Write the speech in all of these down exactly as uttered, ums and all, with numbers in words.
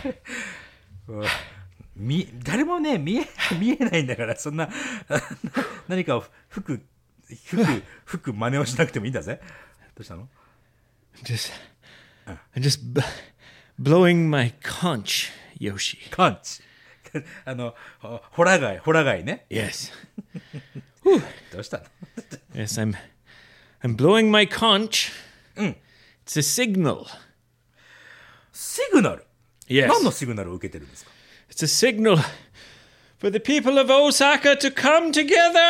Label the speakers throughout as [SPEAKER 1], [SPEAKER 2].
[SPEAKER 1] み誰もね見え見えないんだからそんな何かを吹く吹く吹く真似をしなくてもいいんだぜ。どうしたの？
[SPEAKER 2] Just, I'm just b- blowing my conch, Yoshi.
[SPEAKER 1] カンチあのホラガイホラガイね。
[SPEAKER 2] Yes.
[SPEAKER 1] どうしたの？
[SPEAKER 2] Yes, I'm I'm blowing my conch. It's a signal.
[SPEAKER 1] シグナル、
[SPEAKER 2] Yes.
[SPEAKER 1] 何のシグナルを受けてるんですか？
[SPEAKER 2] It's a signal for the people of Osaka to come together.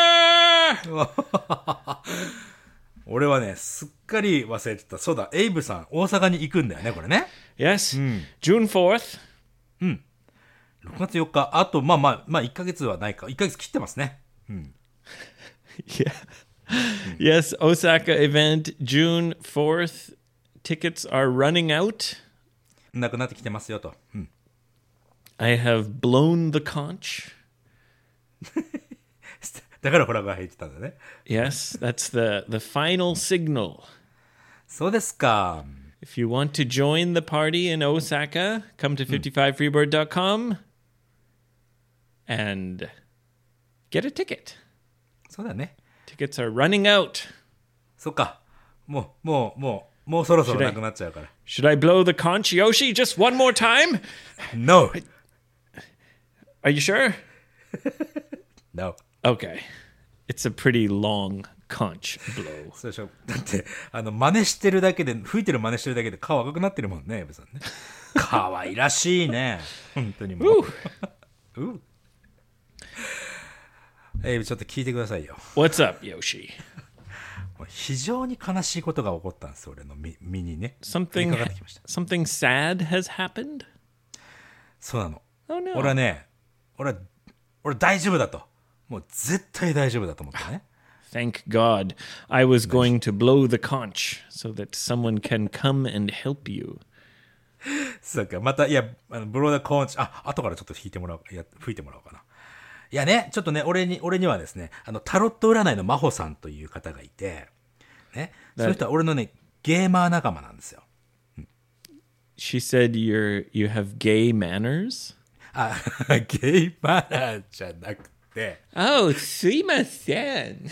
[SPEAKER 1] 俺はねすっかり忘れてた。そうだ、エイブさん大阪に行くんだよねこれね。
[SPEAKER 2] Yes. June fourth.
[SPEAKER 1] ろくがつよっか、あとまあまあまあいっかげつはないか、いっかげつ切ってますね。
[SPEAKER 2] Yeah. Yes, Osaka event June fourth. Tickets are running out.
[SPEAKER 1] なくなってきてますよと、うん、
[SPEAKER 2] I have blown the conch.
[SPEAKER 1] だからホラガイ入ってたんだね。
[SPEAKER 2] Yes, that's the, the final signal.
[SPEAKER 1] そうですか。
[SPEAKER 2] If you want to join the party in Osaka, come to fifty-five freebird dot com and get a ticket.
[SPEAKER 1] そうだね。
[SPEAKER 2] Tickets are running out.
[SPEAKER 1] そっか、もうもうもうもうそろそろなくなっちゃうから。
[SPEAKER 2] Should I blow the conch, Yoshi, just one more time?
[SPEAKER 1] No
[SPEAKER 2] Are you sure?
[SPEAKER 1] No
[SPEAKER 2] Okay. It's a pretty long conch blow.
[SPEAKER 1] そうでしょ。だってあの真似してるだけで吹いてる真似してるだけで顔赤くなってるもんね、エイブさんね。可愛らしいね本当にもう。うエイブちょっと聞いてくださいよ。
[SPEAKER 2] What's up, Yoshi?
[SPEAKER 1] 非常に悲しいことが起こったんです、俺の身身にね。
[SPEAKER 2] Something
[SPEAKER 1] 降りかかってきました。
[SPEAKER 2] something sad has happened?
[SPEAKER 1] そうなの。
[SPEAKER 2] Oh no.
[SPEAKER 1] 俺はね、俺は俺大丈夫だと、もう絶対大丈夫だと思ったね。
[SPEAKER 2] Thank God. I was going to blow the conch so that someone can come and help you.
[SPEAKER 1] そうか、またいやあのブローダーコーンチ、あ後からちょっと弾いてもらう、いや吹いてもらおうかな。いやね、ちょっとね、俺に俺にはですね、あのタロット占いの真帆さんという方がいて、ね、その人は俺のねゲーマー仲間なんですよ。
[SPEAKER 2] She said you're you have gay manners?
[SPEAKER 1] あ、ゲイマナーじゃなくて、
[SPEAKER 2] Oh, すいません。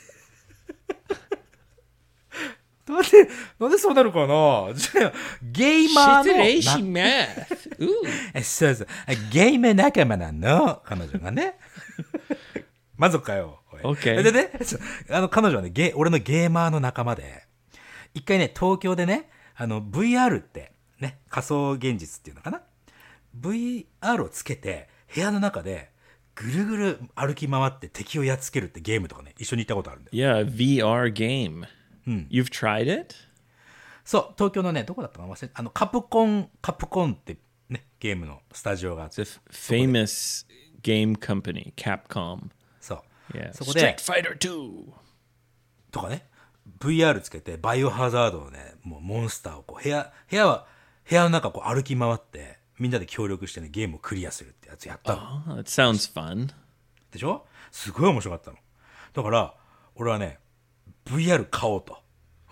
[SPEAKER 1] なんでなんでそうなるかな。じゃあゲイマーの
[SPEAKER 2] 失礼します。Ooh.
[SPEAKER 1] えそうそう、ゲイム仲間なの彼女がね。満足かよ。おい
[SPEAKER 2] OK
[SPEAKER 1] でね、あの彼女はね、ゲ俺のゲーマーの仲間で、一回ね東京でね、あの ブイアール ってね、仮想現実っていうのかな、 ブイアール をつけて部屋の中でぐるぐる歩き回って敵をやっつけるってゲームとかね、一緒に行ったことあるんだよ。
[SPEAKER 2] Yeah, V R game. You've tried it?
[SPEAKER 1] そう、東京のね、どこだったかな忘れ、あのカプコンカプコンってねゲームのスタジオがあって、
[SPEAKER 2] The f- famous game company, Capcom.
[SPEAKER 1] そう
[SPEAKER 2] Yeah.
[SPEAKER 1] そこで
[SPEAKER 2] Street Fighter two.
[SPEAKER 1] とかね、 ブイアール つけてバイオハザードのね、もうモンスターをこう部屋部屋は部屋の中こう歩き回ってみんなで協力してねゲームをクリアするってやつやったの。
[SPEAKER 2] Oh, that sounds fun.
[SPEAKER 1] でしょ。すごい面白かったの。だから俺はね ブイアール 買おうと。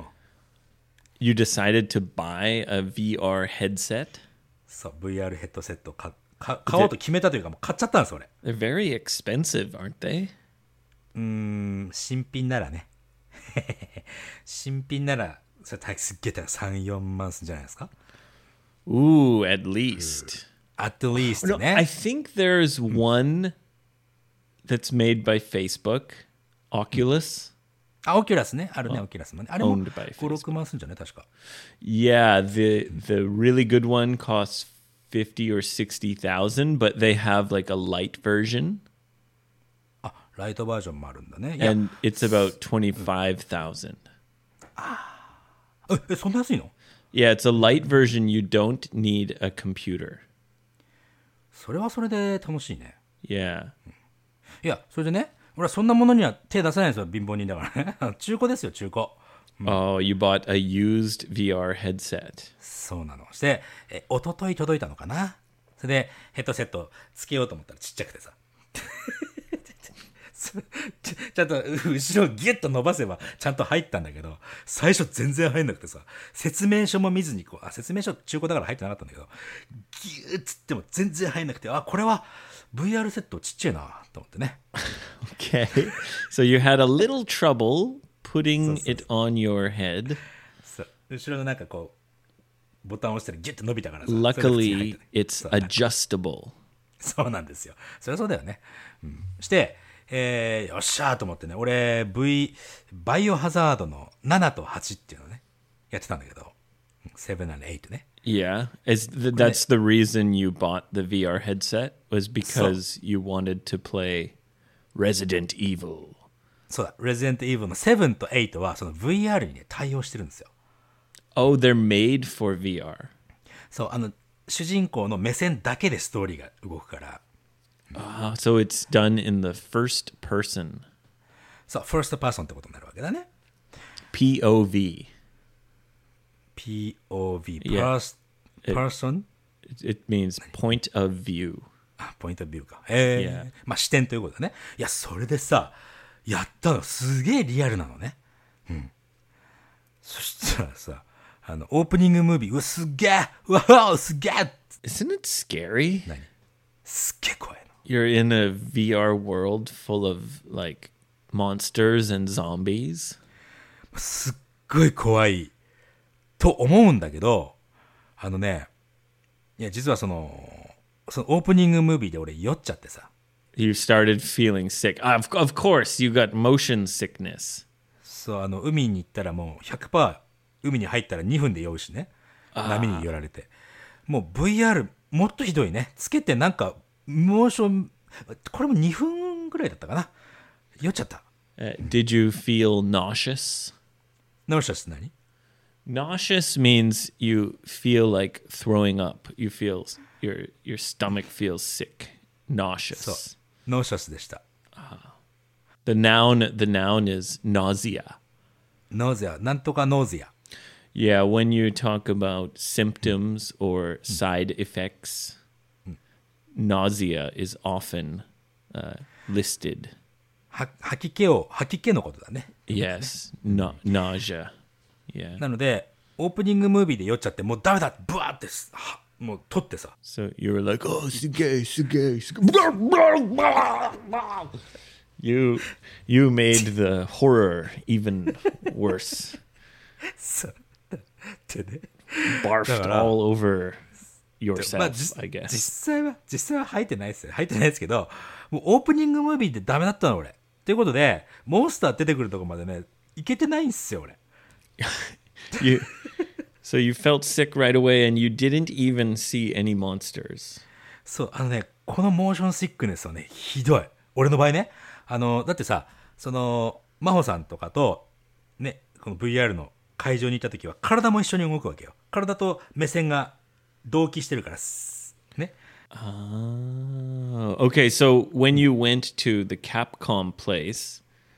[SPEAKER 2] You decided to buy a V R headset?
[SPEAKER 1] そう ブイアール ヘッドセットを買買買おうと決めたというかもう買っちゃったんです俺。
[SPEAKER 2] They're very expensive, aren't they?
[SPEAKER 1] うーん、新品ならね新品ならそれすっげえ高いさん、よんまんするんじゃないですか。
[SPEAKER 2] Ooh, at least.
[SPEAKER 1] at least
[SPEAKER 2] No,
[SPEAKER 1] ね。
[SPEAKER 2] I think there's one that's made by Facebook, Oculus.
[SPEAKER 1] あ、オキュラスね、あるね、オキュラスもね。あれも
[SPEAKER 2] Owned by
[SPEAKER 1] ご、ろくまんするんじゃない確か。
[SPEAKER 2] Yeah, the the really good one costs fifty or sixty thousand, but they have like a light version,
[SPEAKER 1] あ、ライトバージョンもあるんだね。いや、
[SPEAKER 2] and it's about twenty-five thousand.
[SPEAKER 1] え、えそんな安いの？
[SPEAKER 2] Yeah, it's a light version. You don't need a computer.
[SPEAKER 1] それはそれで楽しいね。
[SPEAKER 2] Yeah.
[SPEAKER 1] いや、それでね、俺はそんなものには手出さないんですよ、貧乏人だからね。中古ですよ、中古。
[SPEAKER 2] Oh, you bought a used V R headset.
[SPEAKER 1] そうなの。して、え、一昨日届いたのかな。それで、ヘッドセットつけようと思ったらちっちゃくてさ。 ちちゃんと後ろをギュッと伸ばせばちゃんと入ったんだけど、最初全然入んなくてさ、説明書も見ずにこう、あ、説明書中古だから入ってなかったんだけど、ギュッつっても全然入んなくて、あ、これは ブイアール セットちっちゃいなと思ってね。
[SPEAKER 2] Okay. So you had a little trouble putting it on your head.
[SPEAKER 1] そう後ろのなんかこう、ボタンを押したらギュッと伸びたからさ。
[SPEAKER 2] Luckily, it's adjustable.
[SPEAKER 1] そうなんですよ。そりゃそうだよね。うん、して、えー、よっしゃーと思ってね、俺 V、バイオハザードのななとはちっていうのをね、やってたんだけど、なな and はちね。
[SPEAKER 2] Yeah. Is th- that's the reason you bought the V R headset was because you wanted to play Resident Evil.
[SPEAKER 1] そうだ、Resident Evil のなとはちはその ブイアール にね、対応してるんですよ。
[SPEAKER 2] Oh, they're made for V R.
[SPEAKER 1] そう、あの、主人公の目線だけでストーリーが動くから。
[SPEAKER 2] Ah, so it's done in the first person.
[SPEAKER 1] そう、ファーストパーソンってことになるわけだね。
[SPEAKER 2] P O V.
[SPEAKER 1] ピーオーブイ、
[SPEAKER 2] Yeah.
[SPEAKER 1] Pers- person?
[SPEAKER 2] It, it means point of view.
[SPEAKER 1] あ、ポイントビューか。ええ
[SPEAKER 2] Yeah.
[SPEAKER 1] まあ視点ということだね。いや、それでさ、やったのすげえリアルなのね。うん。そしたらさ、あの、オープニングムービー、うわ、すっげえうわ、すっげえ
[SPEAKER 2] Isn't it scary?
[SPEAKER 1] 何すっげえ怖いの。
[SPEAKER 2] You're in a V R world full of like monsters and zombies.
[SPEAKER 1] すっごい怖いと思うんだけど、あのね、いや、実はその、そのオープニングムービーで俺酔っちゃってさ、
[SPEAKER 2] You started feeling sick. Of, of course, you got motion sickness.
[SPEAKER 1] そう、あの、海に行ったらもう ひゃくパーセント 海に入ったらにふんで酔うしね。波に寄られて。もう ブイアール もっとひどいね。つけてなんか、モーション、これもにふんぐらいだったかな。酔っちゃった。
[SPEAKER 2] Uh, did you feel nauseous?
[SPEAKER 1] ナウシャスって何？
[SPEAKER 2] Nauseous means you feel like throwing up. You feel your your stomach feels sick.
[SPEAKER 1] そう。
[SPEAKER 2] Nauseous.
[SPEAKER 1] ノーシャスでした。
[SPEAKER 2] The noun the noun is nausea.
[SPEAKER 1] ノーゼア、なんとかノーゼア。
[SPEAKER 2] Yeah, when you talk about symptoms or side effects, nausea is often uh, listed.
[SPEAKER 1] は吐き気を、吐き気のことだね。
[SPEAKER 2] Yes, na- nausea. Yeah.
[SPEAKER 1] なので、オープニングムービーで酔っちゃって、もうダメだって、ブワーってす、はもう取ってさ。
[SPEAKER 2] So you were like, oh, sugay, sugay, sugay. You you made the horror even worse.
[SPEAKER 1] そうってね。
[SPEAKER 2] Barfed all over
[SPEAKER 1] まあ、
[SPEAKER 2] yourself,
[SPEAKER 1] 実
[SPEAKER 2] I
[SPEAKER 1] 実
[SPEAKER 2] guess.
[SPEAKER 1] 際は、実際は吐いてないですよ。吐いてないですけど、もうオープニングムービーでダメだったの、俺。ということで、モンスター出てくるとこまでね、いけてないんですよ、俺。
[SPEAKER 2] You so you felt sick right away and you didn't even see any monsters.
[SPEAKER 1] そう、あのね、このモーションシックネスはね、ひどい。俺の場合ね。あの、だってさ、その、真帆さんとかと、ね、この ブイアール の会場に行った時は、体も一緒に動くわけよ。体と目線が同期してるからす、ね。
[SPEAKER 2] Oh, okay. So when you went to the Capcom place,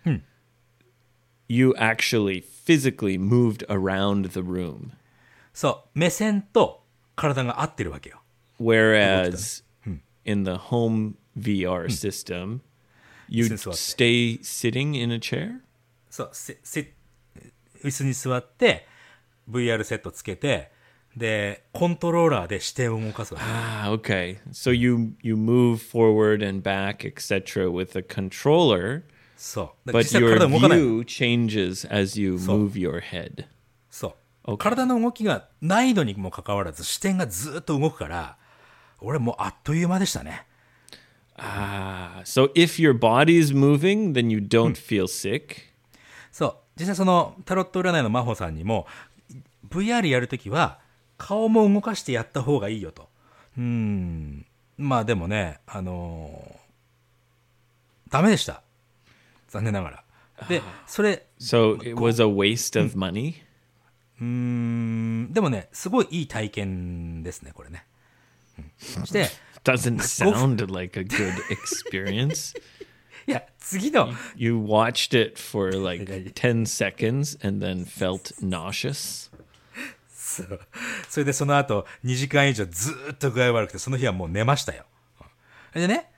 [SPEAKER 2] you actually physically moved around the room,
[SPEAKER 1] そう、目線と体が合ってるわけよ。
[SPEAKER 2] whereas in the home V R system, you
[SPEAKER 1] 椅子に座って。
[SPEAKER 2] stay sitting in a chair.
[SPEAKER 1] そう、せ、せ、椅子に座って、ブイアール セットつけて、で、コントローラーで視点を動かすわけ。
[SPEAKER 2] Ah, okay. So you you move forward and back, et cetera, with a controller,
[SPEAKER 1] そう。だから
[SPEAKER 2] but
[SPEAKER 1] 実際
[SPEAKER 2] your
[SPEAKER 1] 体動かない。
[SPEAKER 2] view changes as you move your head.
[SPEAKER 1] そう。体の動きが難易度にもかかわらず視点がずっと動くから、俺もうあっという間でしたね。
[SPEAKER 2] Ah, so if your body is moving, then you don't feel sick.
[SPEAKER 1] そう。実際そのタロット占いの真帆さんにも ブイアール やるときは顔も動かしてやった方がいいよと。うーん。まあでもね、あのーダメでした。残念ながら。で、それ、
[SPEAKER 2] So it was a waste of money.
[SPEAKER 1] うーん、でもね、すごいいい体験ですね、これね。うん、して、
[SPEAKER 2] Doesn't sound like a good experience.
[SPEAKER 1] いや、次の、
[SPEAKER 2] You watched it for like ten seconds and then felt nauseous.
[SPEAKER 1] そうそれでその後にじかん以上ずーっと具合悪くて、その日はもう寝ましたよ。でね、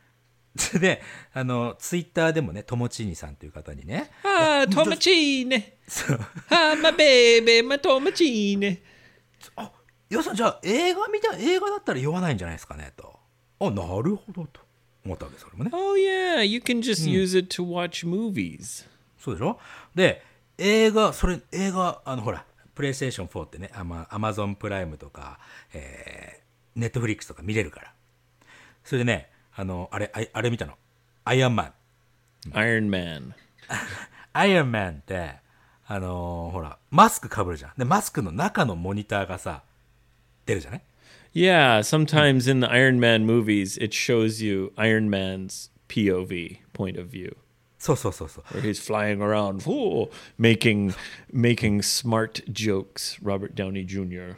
[SPEAKER 1] で、あの、ツイッターでもね、ともちにさんという方にね、
[SPEAKER 2] Ah, Tomachine. Ah, my baby, my Tomachine.
[SPEAKER 1] あ、よさん、じゃあ映画見た、映画だったら酔わないんじゃないですかね、と。あ、なるほど、と思ったわけ、それもね。
[SPEAKER 2] Oh, yeah, you can just use it to watch movies.
[SPEAKER 1] そうでしょ。で、映画、それ、映画、あの、ほら、プレイステーションフォーってね、アマ、アマゾンプライムとか、えー、ネットフリックスとか見れるから。それでね、あの、あれ、ああれ見たの。アイアンマン。
[SPEAKER 2] Iron Man.
[SPEAKER 1] アイアンマンって、あのーほら、マスク被るじゃん。で、マスクの中のモニターがさ、出るじゃない
[SPEAKER 2] Yeah, sometimes in the Iron Man movies, it shows you Iron Man's P O V, point of view,
[SPEAKER 1] そうそうそうそう。
[SPEAKER 2] where he's flying around, whoa, making making smart jokes. Robert Downey Junior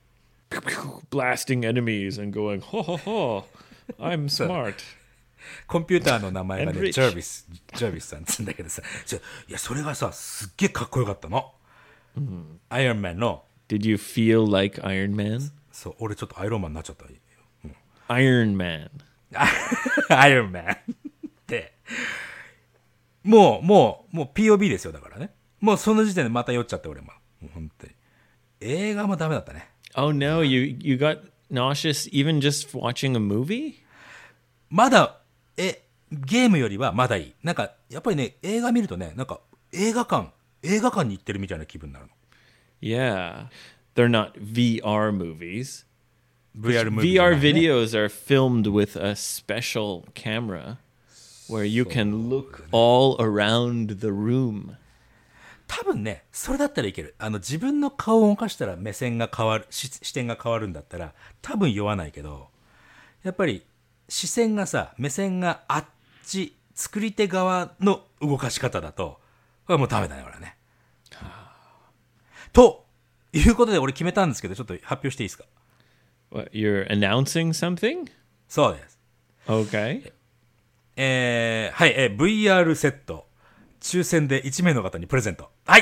[SPEAKER 2] blasting enemies and going, ho ho ho, I'm smart.
[SPEAKER 1] コンピューターの名前が
[SPEAKER 2] And
[SPEAKER 1] ね、
[SPEAKER 2] rich.
[SPEAKER 1] ジャービス、ジャービスさんっつうんだけどさ、ちょいや、それがさ、すっげえかっこよかったの。アイアンマンの、
[SPEAKER 2] Did you feel like Iron Man?
[SPEAKER 1] そう、俺ちょっとアイロンマンになっちゃった。
[SPEAKER 2] Iron Man.
[SPEAKER 1] アイアンマンって、もう、もう、もう ピーオービー ですよ、だからね。もうその時点でまた酔っちゃって、俺も。もう本当に。映画もダメだったね。
[SPEAKER 2] Oh no, you you got nauseous even just watching a movie?
[SPEAKER 1] まだ、え、ゲームよりはまだいい。なんか、やっぱりね、映画見るとね、なんか、映画館、映画館に行ってるみたいな気分になるの。
[SPEAKER 2] Yeah. They're not V R movies.
[SPEAKER 1] ブイアール ムービー
[SPEAKER 2] V
[SPEAKER 1] じゃ
[SPEAKER 2] R
[SPEAKER 1] ないね
[SPEAKER 2] videos are filmed with a special camera where you can look all around the room.
[SPEAKER 1] 多分ね、それだったらいける。あの、自分の顔を動かしたら目線が変わる、し視点が変わるんだったら、多分酔わないけど、やっぱり、視線がさ、目線があっち、作り手側の動かし方だと、これはもうダメだね、俺はね。ということで俺決めたんですけど、ちょっと発表していいですか？
[SPEAKER 2] What, you're announcing something?
[SPEAKER 1] そうです。
[SPEAKER 2] Okay.
[SPEAKER 1] えー、はい、えー、ブイアール セット、抽選でいち名の方にプレゼント。はい。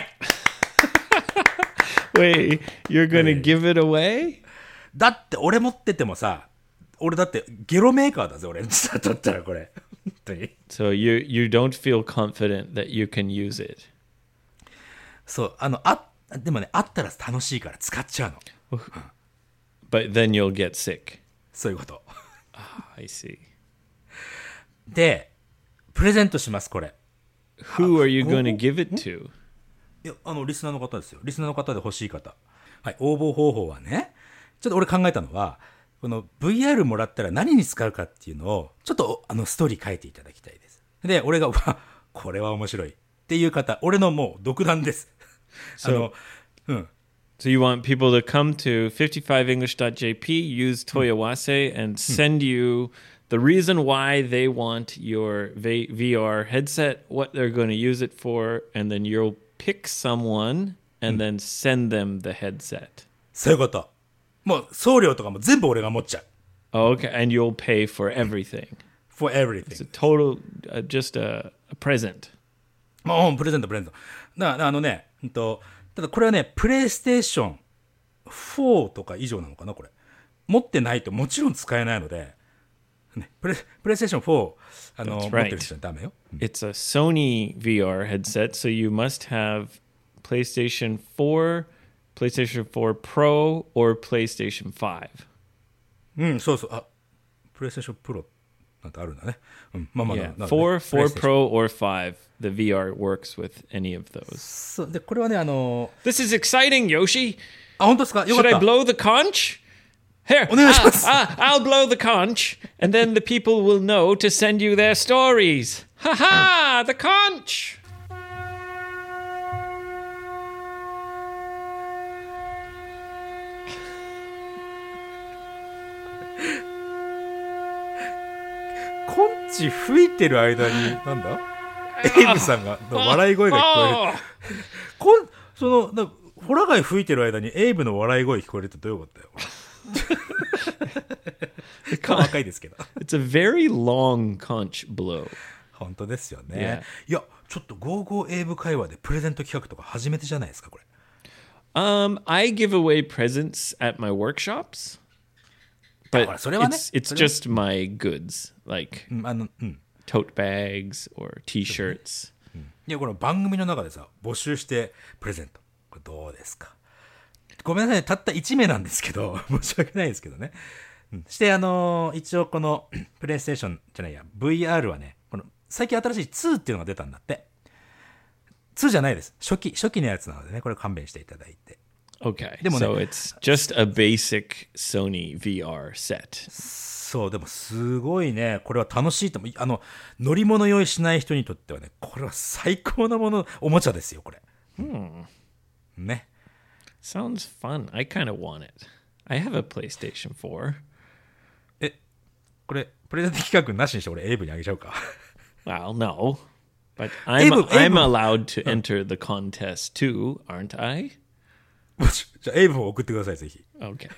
[SPEAKER 2] Wait, you're going to give it away?
[SPEAKER 1] だって俺持っててもさ、俺だってゲロメーカーだぜ、俺。だったらこれ。本当に。
[SPEAKER 2] So you you don't feel confident that you can use it.
[SPEAKER 1] そう、あの、あ、でもね、あったら楽しいから使っちゃうの。
[SPEAKER 2] But then you'll get sick.
[SPEAKER 1] そういうこと。
[SPEAKER 2] I see.
[SPEAKER 1] で、プレゼントします、これ。
[SPEAKER 2] Who are you going to give it to?
[SPEAKER 1] いや、あの、リスナーの方ですよ。リスナーの方で欲しい方。はい、応募方法はね、ちょっと俺考えたのは、この ブイアール もらったら何に使うかっていうのを、ちょっとあのストーリー書いていただきたいです。で、俺が、わ、これは面白いっていう方、俺のもう独断です。あの、うん。
[SPEAKER 2] So you want people to come to fifty-five english dot j p, use Toyawase, and send you the reason why they want your v- VR headset, what they're going to use it for, and then you'll pick someone and then send them the headset.
[SPEAKER 1] そういうこと。もう送料とかも全部俺が持っちゃう。
[SPEAKER 2] Oh, okay, and you'll pay for everything.
[SPEAKER 1] for
[SPEAKER 2] It's a
[SPEAKER 1] everything.
[SPEAKER 2] total, uh, just a, a present.
[SPEAKER 1] もうプレゼントプレゼント。だからあのね、うんと、ただこれはね、プレイステーションフォーとか以上なのかな、これ。持ってないともちろん使えないので、ね、プレプレイステーションフォー、あの、
[SPEAKER 2] That's right.
[SPEAKER 1] 持ってる人はダメよ。
[SPEAKER 2] It's a Sony V R headset, so you must have PlayStation four, PlayStation four Pro, or PlayStation five.
[SPEAKER 1] うん、そうそう。あ、プレイステーションプロなんてあるんだね。うん、まあまあ、
[SPEAKER 2] Yeah,
[SPEAKER 1] ななので
[SPEAKER 2] four,
[SPEAKER 1] プレ
[SPEAKER 2] four
[SPEAKER 1] イステーション
[SPEAKER 2] Pro, or five. The V R works with any of those.
[SPEAKER 1] そうで、これはね、あの、
[SPEAKER 2] This is exciting, Yoshi.
[SPEAKER 1] あ、本当ですか？よか
[SPEAKER 2] Should
[SPEAKER 1] っ
[SPEAKER 2] I
[SPEAKER 1] た。
[SPEAKER 2] blow the conch? Here,
[SPEAKER 1] お願いします。
[SPEAKER 2] ah, ah, I'll blow the conch, and then the people will know to send you their stories. Ha ha! The conch!
[SPEAKER 1] コンチ吹いてる間に、なんだエイブさんが、の笑い声が聞こえる。こん、その、なホラ貝吹いてる間にエイブの笑い声聞こえるってどういうことだよ。細かいですけど。
[SPEAKER 2] It's a very long conch blow.
[SPEAKER 1] 本当ですよね。いや、ちょっとゴーゴーエイブ会話でプレゼント企画とか初めてじゃないですか、これ。
[SPEAKER 2] Um, I give away presents at my workshops. But
[SPEAKER 1] ほらそれはね、
[SPEAKER 2] it's it's
[SPEAKER 1] それは
[SPEAKER 2] just my goods, like
[SPEAKER 1] うんあのうん
[SPEAKER 2] tote bags or t-shirts.
[SPEAKER 1] いやこの番組の中でさ募集してプレゼントこれどうですか。ごめんなさいたったいち名なんですけど申し訳ないですけどね、うん、してあのー一応このプレイステーションじゃないや ブイアール はねこの最近新しいツーっていうのが出たんだって。ツーじゃないです、初期初期のやつなのでねこれ勘弁していただいて。
[SPEAKER 2] Okay.
[SPEAKER 1] Demo
[SPEAKER 2] So
[SPEAKER 1] ne-
[SPEAKER 2] it's just a basic Sony V R set.
[SPEAKER 1] そうでもすごいねこれは楽しいと思う。あの乗り物用意しない人にとってはねこれは最高なものおもちゃですよこれ、ね。
[SPEAKER 2] Sounds fun. I kind of want it. I have a PlayStation four.
[SPEAKER 1] えこれプレゼント企画なしにして俺エイブにあげちゃうか。
[SPEAKER 2] Well, no. But I'm
[SPEAKER 1] Abel-
[SPEAKER 2] I'm
[SPEAKER 1] Abel-
[SPEAKER 2] allowed to enter the contest too, aren't I?
[SPEAKER 1] じゃあエイブを送ってくださいぜひ。
[SPEAKER 2] Okay.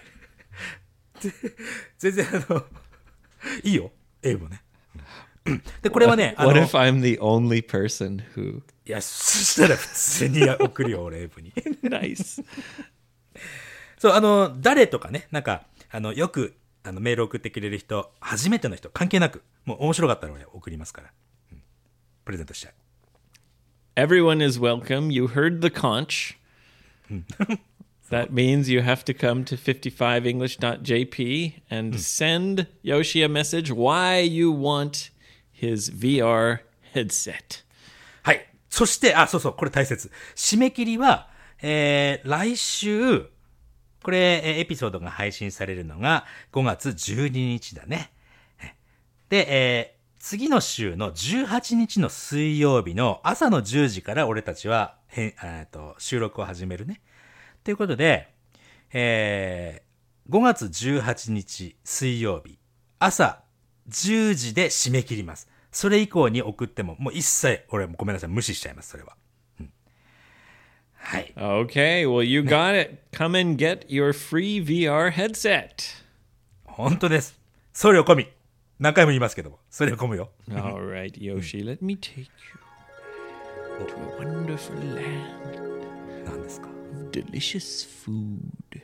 [SPEAKER 1] 全然あのいいよエイブね。でこれはねあの
[SPEAKER 2] What if I'm the only person who
[SPEAKER 1] いやそしたら普通に送るよ俺エイブに。
[SPEAKER 2] nice.
[SPEAKER 1] そうあの誰とかねなんかあのよくあのメール送ってくれる人初めての人関係なくもう面白かったら俺送りますから、うん、プレゼントしちゃう。
[SPEAKER 2] Everyone is welcome. You heard the conch. That means you have to come to fifty-five english dot j p and send Yoshi a message why you want his V R headset.
[SPEAKER 1] はい。そして、あ、そうそう、これ大切。締め切りは、えー、来週、これ、えーエピソードが配信されるのがごがつじゅうににちだね。で、えー、次の週のじゅうはちにちの水曜日の朝のじゅうじから俺たちは、へんえーと収録を始めるね。ということで、えー、ごがつじゅうはちにち水曜日、朝じゅうじで締め切ります。それ以降に送っても、もう一切、俺もごめんなさい、無視しちゃいます、それは。うん、はい。
[SPEAKER 2] Okay, well, you got it. Come and get your free V R headset.
[SPEAKER 1] 本当です。送料込み。何回も言いますけども、送料込むよ。
[SPEAKER 2] All right, Yoshi, let me take you to a wonderful land
[SPEAKER 1] 何ですか。
[SPEAKER 2] of delicious food.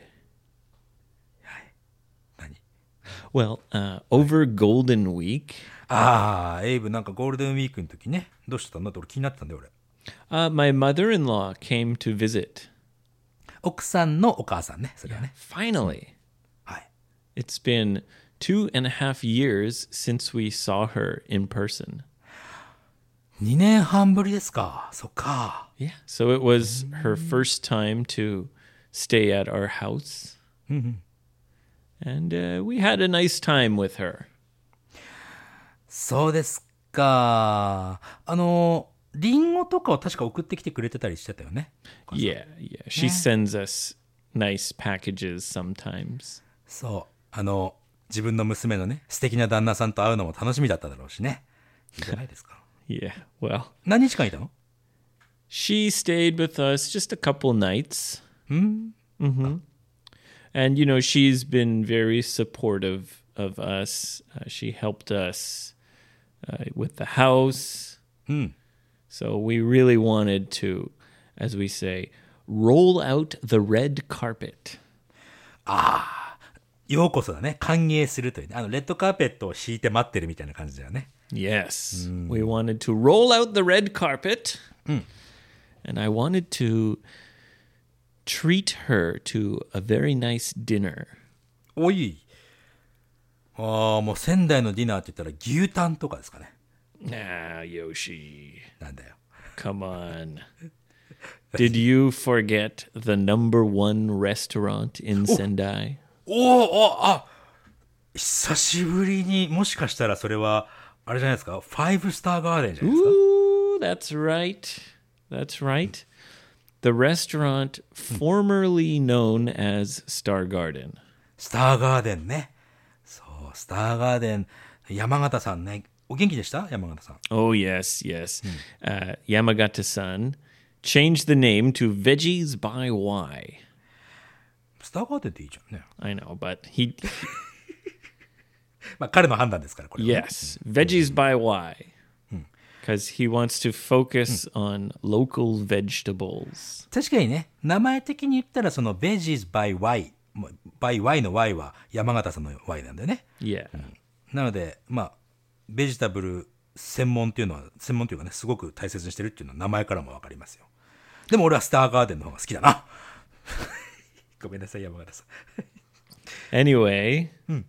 [SPEAKER 1] 何。
[SPEAKER 2] Well, uh, over Golden Week,
[SPEAKER 1] ああ、エイブなんかゴールデンウィークの時ね、どうしてたんだって俺気になってたんだよ、俺。
[SPEAKER 2] uh, my mother-in-law came to visit.
[SPEAKER 1] 奥さんのお母さんね、それはね。
[SPEAKER 2] Finally.
[SPEAKER 1] はい。
[SPEAKER 2] It's been two and a half years since we saw her in person.
[SPEAKER 1] にねんはんぶりですか。そっか。
[SPEAKER 2] Yeah. So it was her first time to stay at our house. And uh, we had a nice time with her.
[SPEAKER 1] そうですか。あの、リンゴとかを確か送ってきてくれてたりしてたよね。
[SPEAKER 2] Yeah, yeah. She sends us nice packages sometimes.
[SPEAKER 1] そう。あの、自分の娘のね、素敵な旦那さんと会うのも楽しみだっただろうしね。いいじゃないですか。
[SPEAKER 2] Yeah, well,
[SPEAKER 1] 何日間いたの？
[SPEAKER 2] she stayed with us just a couple nights. Mm-hmm. And, you know, she's been very supportive of us. Uh, she helped us uh, with the house. So we really wanted to, as we say, roll out the red carpet.
[SPEAKER 1] ようこそだね。歓迎するというね。あの、レッドカーペットを敷いて待ってるみたいな感じだよね。
[SPEAKER 2] Yes, we wanted to roll out the red carpet. And I wanted to treat her to a very nice dinner.
[SPEAKER 1] おい。ああ、もう仙台のディナーって言ったら牛タンとかですかね。
[SPEAKER 2] Ah, Yoshi,
[SPEAKER 1] なんだよ。
[SPEAKER 2] come on. Did you forget the number one restaurant in Sendai?
[SPEAKER 1] おお、おあ、久しぶりに、もしかしたらそれは、あれじゃないですか、ファイブスターガーデンじゃないですか。
[SPEAKER 2] Ooh, that's right. That's right. The restaurant formerly known as Star Garden.
[SPEAKER 1] スターガーデンね。そう、スターガーデン、山形さんね。お元気でした山形さん。
[SPEAKER 2] Oh, yes, yes. Uh, Yamagata-san changed the name to Veggies by Y.
[SPEAKER 1] スターガーデンっていいじゃんね。
[SPEAKER 2] I know, but he,
[SPEAKER 1] まあ彼の判断ですから、これはね。
[SPEAKER 2] yes, Veggies by Y. Because he wants to focus on local vegetables.
[SPEAKER 1] 確かにね、名前的に言ったらその Veggies by Y、by ぱい Y の Y は山形さんの Y なんだよね。
[SPEAKER 2] Yeah.
[SPEAKER 1] なのでまあベジタブル専門っていうのは専門というかねすごく大切にしてるっていうのは名前からもわかりますよ。でも俺はスターガーデンの方が好きだな。ごめんなさい山形さん。
[SPEAKER 2] Anyway,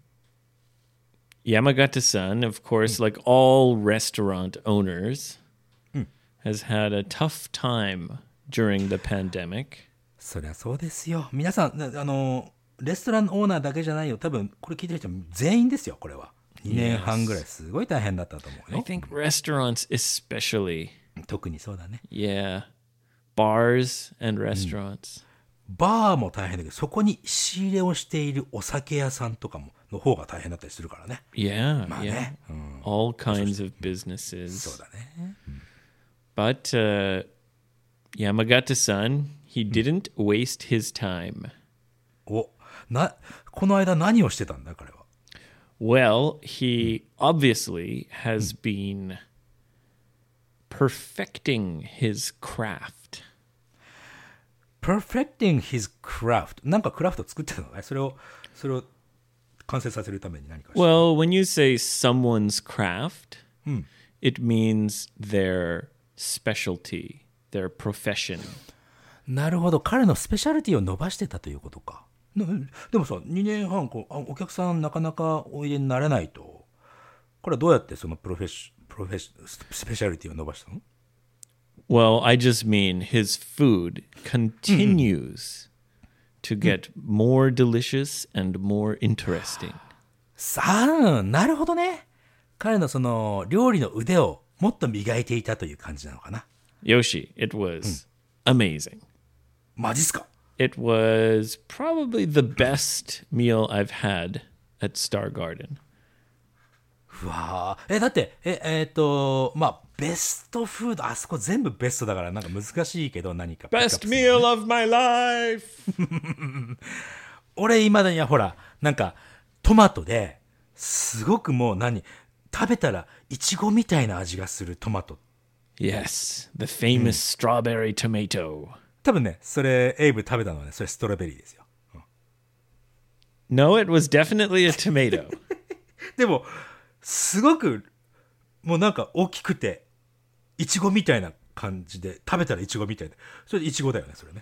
[SPEAKER 2] Yamagata-san, of course, like all restaurant owners, has had a tough time during the pandemic.
[SPEAKER 1] そりゃそうですよ。皆さんあのレストランオーナーだけじゃないよ。多分これ聞いてる人全員ですよ。これはにねんはんぐらいすごい大変だったと思う
[SPEAKER 2] I
[SPEAKER 1] よ。
[SPEAKER 2] think restaurants especially.
[SPEAKER 1] 特にそうだね。
[SPEAKER 2] Yeah. Bars and restaurants.
[SPEAKER 1] バーも大変だけどそこに仕入れをしているお酒屋さんとかもの方が大変だったりするからね。
[SPEAKER 2] Yeah,
[SPEAKER 1] まあ
[SPEAKER 2] yeah.
[SPEAKER 1] ね、うん、
[SPEAKER 2] All kinds of
[SPEAKER 1] そう
[SPEAKER 2] businesses.
[SPEAKER 1] だね。
[SPEAKER 2] But uh, Yamagata-san, he didn't waste his time.
[SPEAKER 1] おなこの間何をしてたんだ彼は。
[SPEAKER 2] Well, he obviously has been perfecting his craft.
[SPEAKER 1] Perfecting his craft なんかクラフト作ってたのね。それをそれを完成させるために何かして。
[SPEAKER 2] Well, when you say someone's craft, it means their specialty, their profession.
[SPEAKER 1] なるほど。彼のスペシャリティを伸ばしてたということか。なでもさにねんはんこうあお客さんなかなかおいでになれないとこれはどうやってそのプロフェッシプロフェッシスペシャリティを伸ばしたの？
[SPEAKER 2] Well, I just mean his food continues to get more delicious and more interesting.
[SPEAKER 1] さあ、なるほどね。彼のその料理の腕をもっと磨いていたという感じなのかな。
[SPEAKER 2] Yoshi, it was amazing.
[SPEAKER 1] マジっすか？
[SPEAKER 2] It was probably the best meal I've had at Star Garden.
[SPEAKER 1] うわーえだってええーっとまあベストフードあそこ全部ベストだからなんか難しいけど何か
[SPEAKER 2] Best meal of my life!
[SPEAKER 1] 俺いまだにはほらなんかトマトですごくもう何食べたらイチゴみたいな味がするトマト
[SPEAKER 2] Yes, the famous strawberry tomato.
[SPEAKER 1] 多分ねそれエイブ食べたのはねそれストロベリーですよ、うん、
[SPEAKER 2] No, it was definitely a tomato.
[SPEAKER 1] でもすごくもうなんか大きくてイチゴみたいな感じで食べたらイチゴみたいでそれイチゴだよねそれね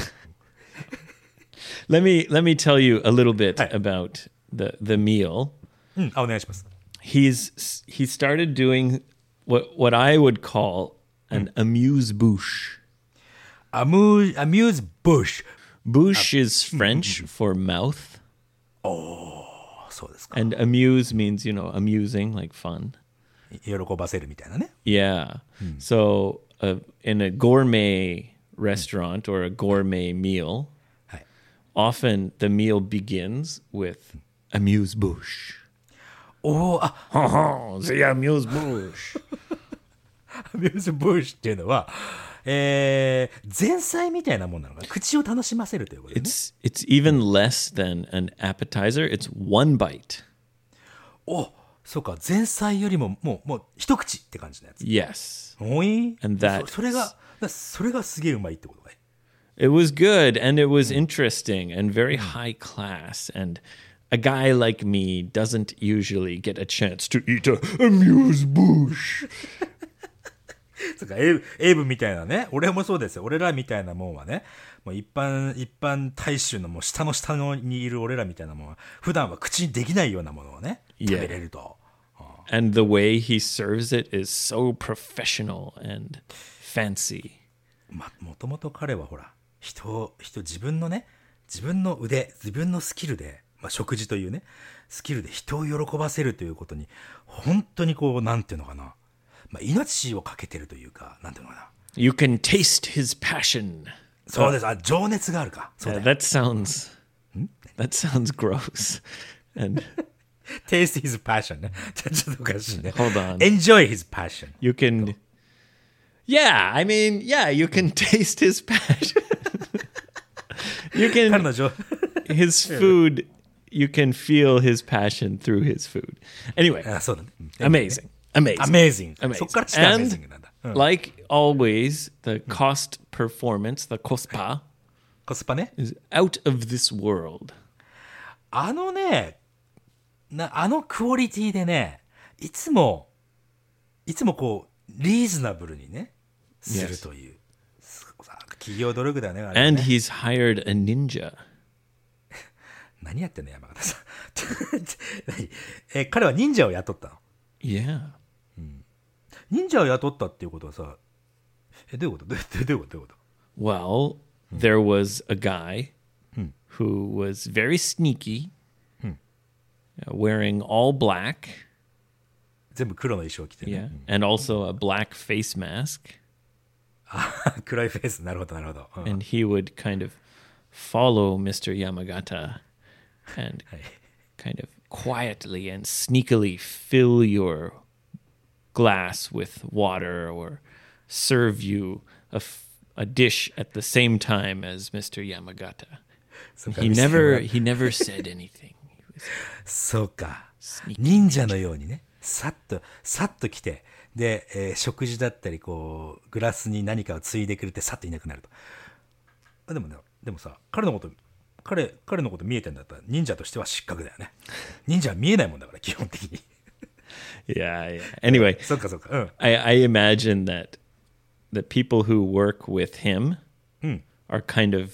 [SPEAKER 2] let me let me tell you a little bit
[SPEAKER 1] Hi.
[SPEAKER 2] about the the meal.
[SPEAKER 1] うんあお願いします
[SPEAKER 2] He's he started doing what what I would call an amuse-bouche.
[SPEAKER 1] アムーアミューズブッシュ
[SPEAKER 2] Bouche is French for mouth,
[SPEAKER 1] そうですか
[SPEAKER 2] and amuse means, you know, amusing, like fun.
[SPEAKER 1] 喜ばせるみたいなね
[SPEAKER 2] Yeah. So uh, in a gourmet restaurant or a gourmet meal,
[SPEAKER 1] はい
[SPEAKER 2] often the meal begins with amuse-bouche.
[SPEAKER 1] おおあ
[SPEAKER 2] The amuse-bouche.
[SPEAKER 1] アミューズブッシュっていうのはえー、前菜みたいなもんなのかな口を楽しませるということね
[SPEAKER 2] It's it's even less than an appetizer. It's one bite.
[SPEAKER 1] おそうか前菜よりももうもう一口って感じのやつ
[SPEAKER 2] Yes.
[SPEAKER 1] おい
[SPEAKER 2] And that-
[SPEAKER 1] そそれがそれがすげえうまいってことね
[SPEAKER 2] It was good and it was interesting and very high class. And a guy like me doesn't usually get a chance to eat a amuse-bouche.
[SPEAKER 1] そうかエイブエイブみたいなね俺もそうですよ俺らみたいなもんはねもう一般一般大衆のもう下の下のにいる俺らみたいなもんは普段は口にできないようなものをね
[SPEAKER 2] Yeah.
[SPEAKER 1] 食べれると
[SPEAKER 2] And the way he serves it is so professional and fancy.
[SPEAKER 1] まもともと彼はほら人を人自分のね自分の腕自分のスキルで、まあ、食事というねスキルで人を喜ばせるということに本当にこうなんていうのかな、まあ、命をかけてるというかなんていうのかな
[SPEAKER 2] You can taste his passion.
[SPEAKER 1] そうですあ情熱があるかそう
[SPEAKER 2] Yeah,
[SPEAKER 1] だよ
[SPEAKER 2] that sounds that sounds gross. And
[SPEAKER 1] Taste his passion ねちょちょっとおかしいね
[SPEAKER 2] Hold on.
[SPEAKER 1] Enjoy his passion
[SPEAKER 2] you can Yeah, I mean, yeah, you can taste his passion. you
[SPEAKER 1] 彼
[SPEAKER 2] can
[SPEAKER 1] の情
[SPEAKER 2] his food you can feel his passion through his food. Anyway,
[SPEAKER 1] あそうだね
[SPEAKER 2] amazing. Amazing.
[SPEAKER 1] Amazing
[SPEAKER 2] Amazing.
[SPEAKER 1] そっからして
[SPEAKER 2] And
[SPEAKER 1] Amazing なんだ、うん、
[SPEAKER 2] like always, the cost performance, the kospa,
[SPEAKER 1] コスパね
[SPEAKER 2] is out of this world.
[SPEAKER 1] あのね、な、あのクオリティでね、いつも、いつもこう、リーズナブルにね、するという。企業努力だよね、あれはね。
[SPEAKER 2] And he's hired a ninja.
[SPEAKER 1] 何やってんの、山形さん。何え、彼は忍者を雇ったの？
[SPEAKER 2] Yeah.
[SPEAKER 1] 忍者を雇ったっていうことはさ、え、どういうことどういうことどういうことどういうこと
[SPEAKER 2] Well, there was a guy who was very sneaky, uh, wearing all black,
[SPEAKER 1] 全部黒の衣装を着てね。
[SPEAKER 2] yeah, and also a black face mask.
[SPEAKER 1] 黒いフェイス、なるほどなるほど。うん
[SPEAKER 2] And he would kind of follow Mister Yamagata and
[SPEAKER 1] はい
[SPEAKER 2] kind of quietly and sneakily fill your glass with water or serve you a, f- a dish at the same time as Mister Yamagata.
[SPEAKER 1] そうか
[SPEAKER 2] He
[SPEAKER 1] 見せても
[SPEAKER 2] never
[SPEAKER 1] らう
[SPEAKER 2] he never said anything. He was
[SPEAKER 1] そうか。
[SPEAKER 2] sneaky.
[SPEAKER 1] 忍者のようにね、さっと、さっと来て、で、えー食事だったり、こう、グラスに何かをついでくれて、さっといなくなると。あでもね、でもさ、彼のこと、彼、彼のこと見えてんだったら、忍者としては失格だよね。忍者は見えないもんだから、基本的に。
[SPEAKER 2] Yeah, yeah. Anyway,
[SPEAKER 1] そっかそっか。うん。
[SPEAKER 2] I, I imagine that the people who work with him are kind of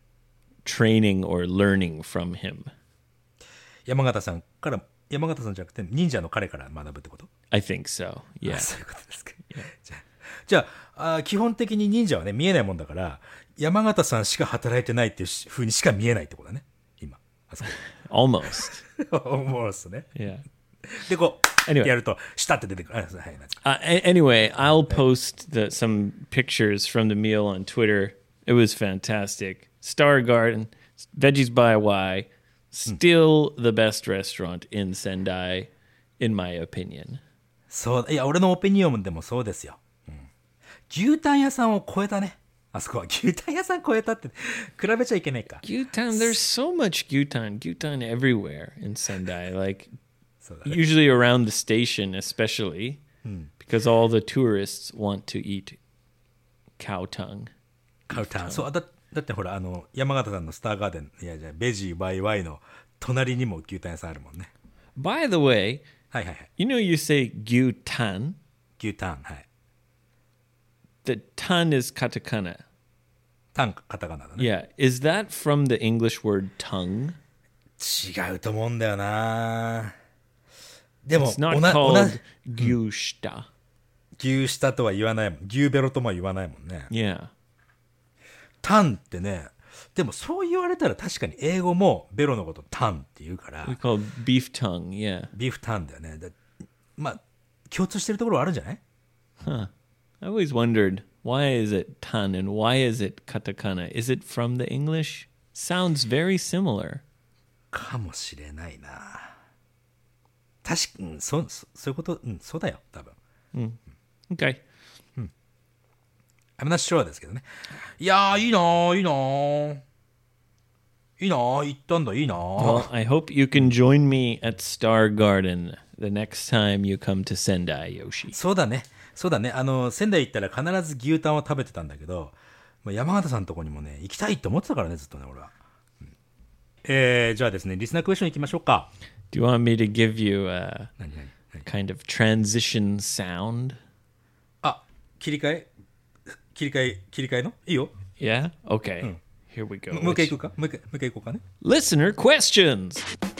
[SPEAKER 2] training or learning from him.
[SPEAKER 1] 山形さんから、山形さんじゃなくて、忍者の彼から学ぶってこと？
[SPEAKER 2] I think so.
[SPEAKER 1] あ
[SPEAKER 2] Yeah.
[SPEAKER 1] そういうことですか。じゃあ、じゃあ、あー基本的に忍者はね、見えないもんだから、山形さんしか働いてないっていうし風にしか見えないってことだね。今。あそこ。
[SPEAKER 2] Almost.
[SPEAKER 1] 思うっすね。
[SPEAKER 2] Yeah.
[SPEAKER 1] で、こう、
[SPEAKER 2] Anyway.
[SPEAKER 1] やると、下って出てくる。あはい、なんですか
[SPEAKER 2] Uh, a- anyway, I'll post the, some pictures from the meal on Twitter. It was fantastic. Star Garden, Veggies by Y, still the best restaurant in Sendai, in my opinion.
[SPEAKER 1] そう、いや、俺のオピニオンでもそうですよ。うん、牛タン屋さんを超えたね。あそこは牛タン屋さん超えたって、比べちゃいけないか。
[SPEAKER 2] Gyutan, there's so much gyutan, gyutan everywhere in Sendai. Like
[SPEAKER 1] そうだね。
[SPEAKER 2] usually around the station, especially because all the tourists want to eat cow tongue.
[SPEAKER 1] カウタン。そう、だ、だってほら、あの、山形さんのスターガーデン、いや、じゃあベジーワイワイの隣にも牛タン屋さんあるもんね。
[SPEAKER 2] By the way,
[SPEAKER 1] はいはいはい。
[SPEAKER 2] you know you say gyutan.
[SPEAKER 1] 牛タン、はい。
[SPEAKER 2] The tan is katakana.
[SPEAKER 1] タン、カタカナだね。
[SPEAKER 2] Yeah. Is that from the English word tongue?
[SPEAKER 1] 違うと思うんだよな。でも、
[SPEAKER 2] It's not
[SPEAKER 1] おな、おな、
[SPEAKER 2] called gyushita.
[SPEAKER 1] 牛舌とは言わないもん。牛ベロとも言わないもんね。
[SPEAKER 2] Yeah.
[SPEAKER 1] タンってね、でもそう言われたら確かに英語もベロのことタンって言うから、
[SPEAKER 2] We call beef tongue. Yeah.
[SPEAKER 1] ビーフタンだよね。だまあ、共通してるところはあるんじゃない？
[SPEAKER 2] Huh. I always wondered, why is it tan and why is it katakana? Is it from the English? Sounds very similar.
[SPEAKER 1] かもしれないな。確かに、うん、そ、そそういうこと、うん、そうだよ、多分。
[SPEAKER 2] Okay.
[SPEAKER 1] I'm not sure ですけどね。いやー、いいなー、いいなー。いいなー、行ったんだ、いいなー。
[SPEAKER 2] Well, I hope you can join me at Star Garden the next time you come to Sendai, Yoshi.
[SPEAKER 1] そうだね。そうだね。あの、仙台行ったら必ず牛タンを食べてたんだけど、まあ山形さんのとこにもね、行きたいって思ってたからね、ずっとね、俺は。うん、えー、じゃあですね、リスナークエスチョン行きましょうか。
[SPEAKER 2] Do you want me to give you a
[SPEAKER 1] 何何何
[SPEAKER 2] kind of transition sound?
[SPEAKER 1] あ、切り替え切り替え、切り替えのいいよ。
[SPEAKER 2] Yeah? Okay. Here we go.
[SPEAKER 1] もう一回行くかもう一回、もう一回行こうかね。
[SPEAKER 2] Listener questions.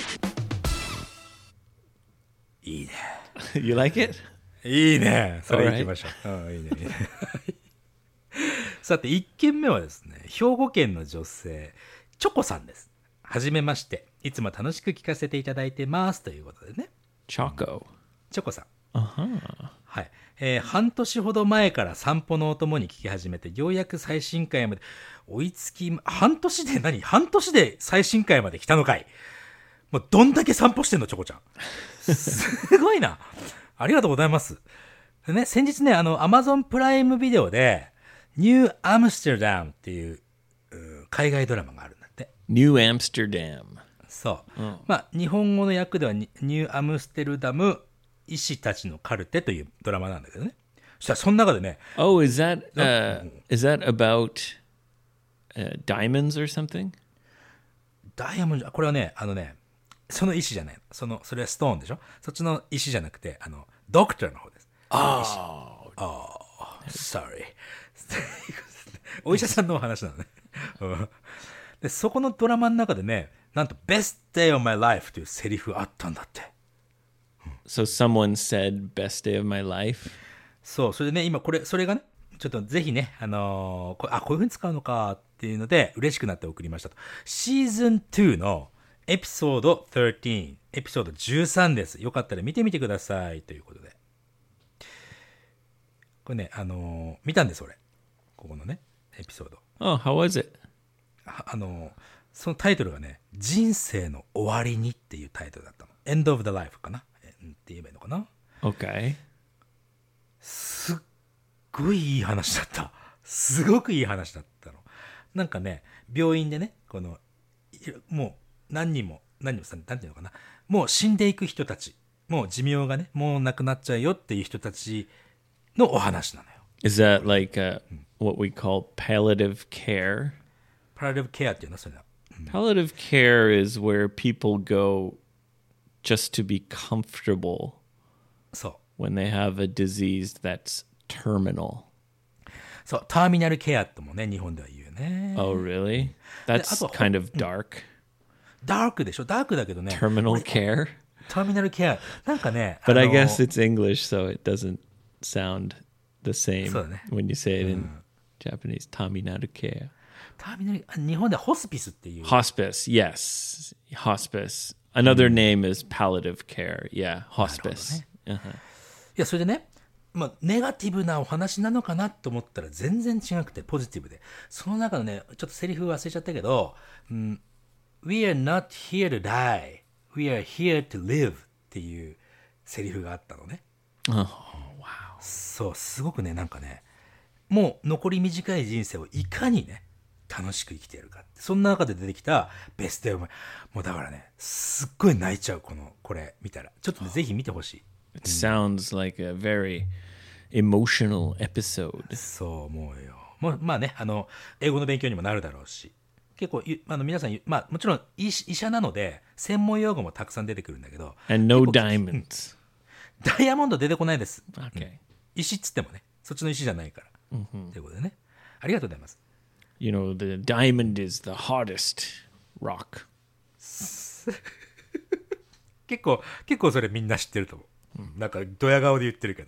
[SPEAKER 1] いいね。
[SPEAKER 2] You like it?
[SPEAKER 1] いいね。それ
[SPEAKER 2] Alright.
[SPEAKER 1] 行きましょう。うん、いいね、いいね。さて、一件目はですね、兵庫県の女性、チョコさんです。はじめまして。いつも楽しく聞かせていただいてます。ということでね。
[SPEAKER 2] Choco.
[SPEAKER 1] チョコさん。
[SPEAKER 2] Uh-huh.
[SPEAKER 1] はい。えー半年ほど前から散歩のお供に聞き始めて、ようやく最新回まで追いつき、半年で何半年で最新回まで来たのかい。もうどんだけ散歩してんの、チョコちゃん。すごいな。ありがとうございます。でね、先日ね、あの、アマゾンプライムビデオで、ニューアムステルダムっていう、うー海外ドラマがあるんだって。
[SPEAKER 2] New Amsterdam.
[SPEAKER 1] そう。まあ、日本語の訳ではニ、ニューアムステルダム医師たちのカルテというドラマなんだけどね。そしたらその中でね、
[SPEAKER 2] Oh, is that uh, is that about uh, diamonds or something?
[SPEAKER 1] ダイヤモンド、これはね、あのね、 その石じゃないの。その、それはストーンでしょ。そっちの石じゃなくて、あの、ドクターの方です。
[SPEAKER 2] Oh,
[SPEAKER 1] sorry お医者さんのお話なのねうんでそこのドラマの中でね、なんと Best Day of My Life というセリフあったんだって。
[SPEAKER 2] so someone said best day of my life.
[SPEAKER 1] そう、それでね、今これそれがね、ちょっとぜひね、あのーこあこういう風に使うのかっていうので嬉しくなって送りましたと。シーズンにのエピソードじゅうさん、エピソードじゅうさんです。よかったら見てみてくださいということで、これね、あのー見たんです俺、ここのねエピソード。
[SPEAKER 2] Oh, how was it?
[SPEAKER 1] ああのーそのタイトルがね、人生の終わりにっていうタイトルだったの。 End of the Life かな、えって言えばいいのかな。
[SPEAKER 2] Okay.
[SPEAKER 1] すっごいいい話だった。すごくいい話だったの。なんかね、病院でね、このいもう何人も何人もさ、なんていうのかな、もう死んでいく人たち、もう寿命がね、もうなくなっちゃうよっていう人たちのお話なのよ。
[SPEAKER 2] Is that like uh, what we call palliative care?
[SPEAKER 1] パラレルケアっていうのはそれだ。
[SPEAKER 2] Palliative care is where people go just to be comfortable
[SPEAKER 1] そう
[SPEAKER 2] when they have a disease that's terminal.
[SPEAKER 1] そう、ターミナルケアともね、日本では言うね。
[SPEAKER 2] Oh, really? That's
[SPEAKER 1] I thought-
[SPEAKER 2] kind of dark.
[SPEAKER 1] ダークでしょ。ダークだけどね、
[SPEAKER 2] Terminal care?
[SPEAKER 1] ターミナルケアなんかね、
[SPEAKER 2] But
[SPEAKER 1] あ
[SPEAKER 2] I
[SPEAKER 1] の
[SPEAKER 2] guess it's English, so it doesn't sound the same
[SPEAKER 1] そうだね。
[SPEAKER 2] when you say it in Japanese. Taminaru care.
[SPEAKER 1] ターミナル、あ日本ではホスピスっていう。
[SPEAKER 2] Hospice, yes. Hospice. Another name is palliative care. Yeah, hospice. Uh-huh.
[SPEAKER 1] いや、それでね、まあ、ネガティブなお話なのかなと思ったら全然違くてポジティブで、その中のね、ちょっとセリフ忘れちゃったけど、うん、We are not here to die. We are here to live っていうセリフがあったのね。
[SPEAKER 2] Oh, wow.
[SPEAKER 1] そう、すごくね、なんかね、もう残り短い人生をいかにね、楽しく生きてやるかって、そんな中で出てきたベストオブ、もうだからね、すっごい泣いちゃう、この、これ見たら。ちょっとね、ぜひ見てほしい。
[SPEAKER 2] It sounds like a very emotional episode.
[SPEAKER 1] そう思うよ。もうまあね、あの英語の勉強にもなるだろうし、結構ゆあの皆さん、まあもちろん医師医者なので専門用語もたくさん出てくるんだけど、
[SPEAKER 2] And no diamonds.
[SPEAKER 1] ダイヤモンド出てこないです。
[SPEAKER 2] Okay.
[SPEAKER 1] 石っつってもね、そっちの石じゃないから。ということでね、ありがとうございます。
[SPEAKER 2] You know, the diamond is the hardest rock.
[SPEAKER 1] 結構結構それみんな知ってると思う。なんかドヤ顔で言ってるけど。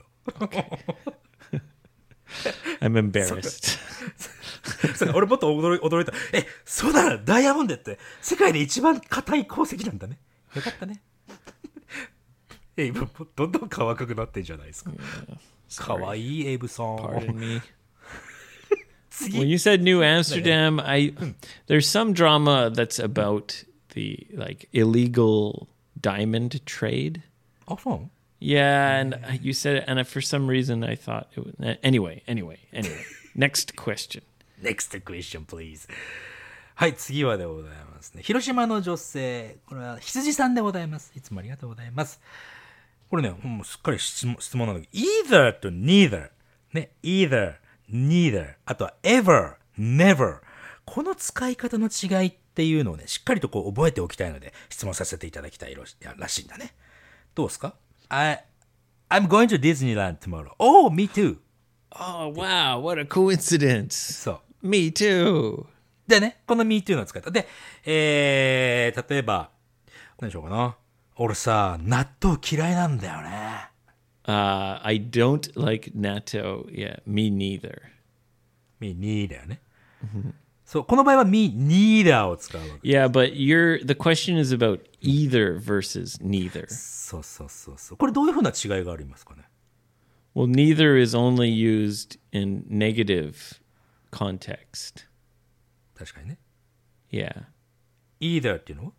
[SPEAKER 2] I'm embarrassed.
[SPEAKER 1] そう俺もっと驚い驚いた。え、そうだな、ダイヤモンドって世界で一番硬い鉱石なんだね。よかったね。え、今どんどん可愛くなってんじゃないですか。可愛いエイブさん。
[SPEAKER 2] Pardon me.
[SPEAKER 1] 次
[SPEAKER 2] When you said New Amsterdam, I there's some drama that's about the like illegal diamond trade.
[SPEAKER 1] あ、そうなの？
[SPEAKER 2] Yeah, and I- you said it, and I, for some reason I thought it was. Anyway, anyway, anyway. Next question.
[SPEAKER 1] Next question, please. はい、次はでございますね。広島の女性、これは羊さんでございます。いつもありがとうございます。これね、もうすっかり質問、質問なんだけど、either と neither。ね、either, neither。あとは ever, never。この使い方の違いっていうのをね、しっかりとこう覚えておきたいので、質問させていただきたいらしいんだね。どうですか？ I, I'm going to Disneyland tomorrow. Oh, me too.
[SPEAKER 2] Oh wow, what a coincidence.
[SPEAKER 1] そう。
[SPEAKER 2] Me too.
[SPEAKER 1] でね、この me too の使い方。で、えー、例えば、何でしょうかな。俺さ、納豆嫌いなんだよね。
[SPEAKER 2] Uh, I don't like natto. Yeah, me neither.
[SPEAKER 1] me neither ね。そう、この場合は me neither を使うわけ。
[SPEAKER 2] Yeah, but you're the question is about either versus neither.
[SPEAKER 1] そうそうそうそう。これどういうふうな違いがありますかね。
[SPEAKER 2] Well, neither is only used in negative context.
[SPEAKER 1] 確かにね。
[SPEAKER 2] Yeah.
[SPEAKER 1] either っていうのは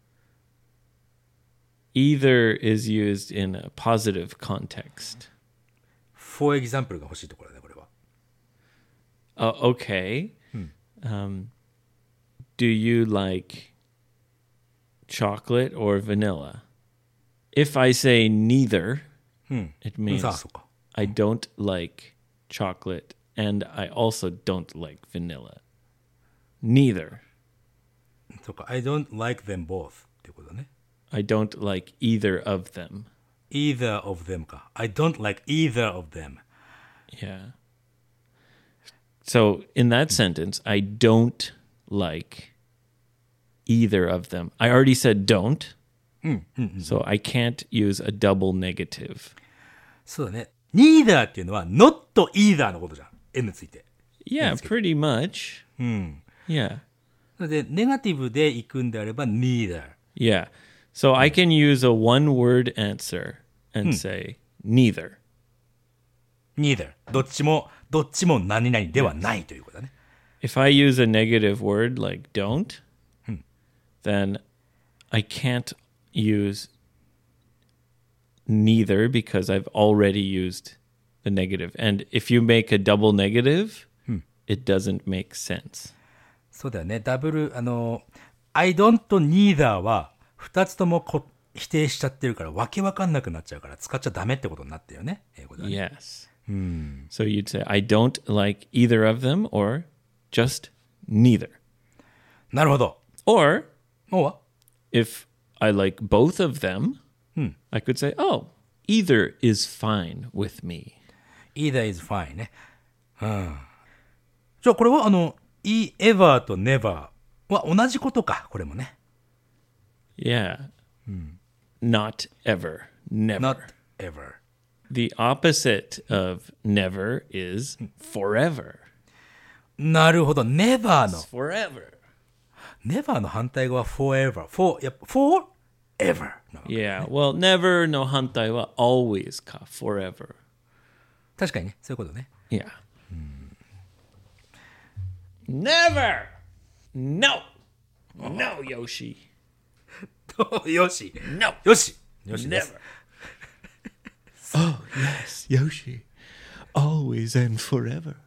[SPEAKER 2] Either is used in a positive context.
[SPEAKER 1] for example が欲しいところだね、これは。
[SPEAKER 2] Uh, okay. Um, do you like chocolate or vanilla? If I say neither, it
[SPEAKER 1] うん、
[SPEAKER 2] means
[SPEAKER 1] さあ、そうか。
[SPEAKER 2] I don't like chocolate and I also don't like vanilla. Neither.
[SPEAKER 1] そうか。I don't like them both っていうことだね。
[SPEAKER 2] I don't like either of them.
[SPEAKER 1] either of them か。I don't like either of them.
[SPEAKER 2] Yeah. So in that sentence, I don't like either of them. I already said don't. So I can't use a double negative.
[SPEAKER 1] そうだね。neither っていうのは not either のことじゃん。N ついて。
[SPEAKER 2] Yeah, pretty much. Yeah.
[SPEAKER 1] なので、ネガティブで行くんであれば neither.
[SPEAKER 2] Yeah. So I can use a one word answer and say neither.
[SPEAKER 1] neither. どっちも、どっちも何々ではないということだね。
[SPEAKER 2] If I use a negative word like don't, then I can't use neither because I've already used the negative. And if you make a double negative, it doesn't make sense.
[SPEAKER 1] そうだよね。ダブル、あの、I don't neither は二つともこ否定しちゃってるからわけわかんなくなっちゃうから使っちゃダメってことになってるよね。英語ではね。
[SPEAKER 2] Yes. So you'd say, I don't like either of them or just neither.
[SPEAKER 1] なるほど。
[SPEAKER 2] Or
[SPEAKER 1] もう
[SPEAKER 2] if I like both of them, I could say, oh, either is fine with me.
[SPEAKER 1] either is fine ね。うん。じゃあこれはあの、ever と never は同じことか。これもね。
[SPEAKER 2] Yeah. Not ever. Never.
[SPEAKER 1] not ever.
[SPEAKER 2] The opposite of never is forever.
[SPEAKER 1] なるほど。never の、
[SPEAKER 2] Forever.
[SPEAKER 1] never の反対語は forever. for, やっぱ forever なの。
[SPEAKER 2] Yeah. Well, never no hantai wa always ka. Forever.
[SPEAKER 1] 確かにね。そういうことね。
[SPEAKER 2] Yeah. Never. No. No, Yoshi.
[SPEAKER 1] よし。
[SPEAKER 2] No.
[SPEAKER 1] よし。よしです
[SPEAKER 2] Never. Oh, yes, Yoshi. Always and forever.